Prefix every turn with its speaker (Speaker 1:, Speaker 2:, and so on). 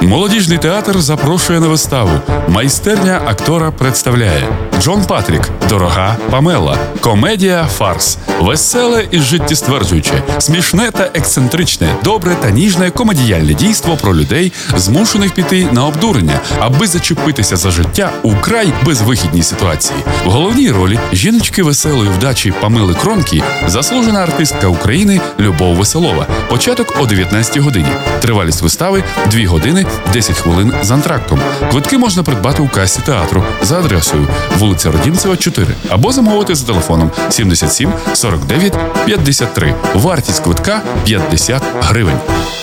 Speaker 1: Молодіжний театр запрошує на виставу. Майстерня актора представляє Джон Патрік, Дорога Памела. Комедія «Фарс». Веселе і життєстверджуюче, смішне та ексцентричне, добре та ніжне комедіяльне дійство про людей, змушених піти на обдурення, аби зачепитися за життя у край безвихідній ситуації. В головній ролі жіночки веселої вдачі Памели Кронкі, заслужена артистка України Любов Веселова. Початок о 19-й годині. Тривалість вистави – 2 години 10 хвилин з антрактом. Квитки можна придбати у касі театру за адресою вулиця Родімцева, 4 або замовити за телефоном 77 49 53. Вартість квитка – 50 гривень.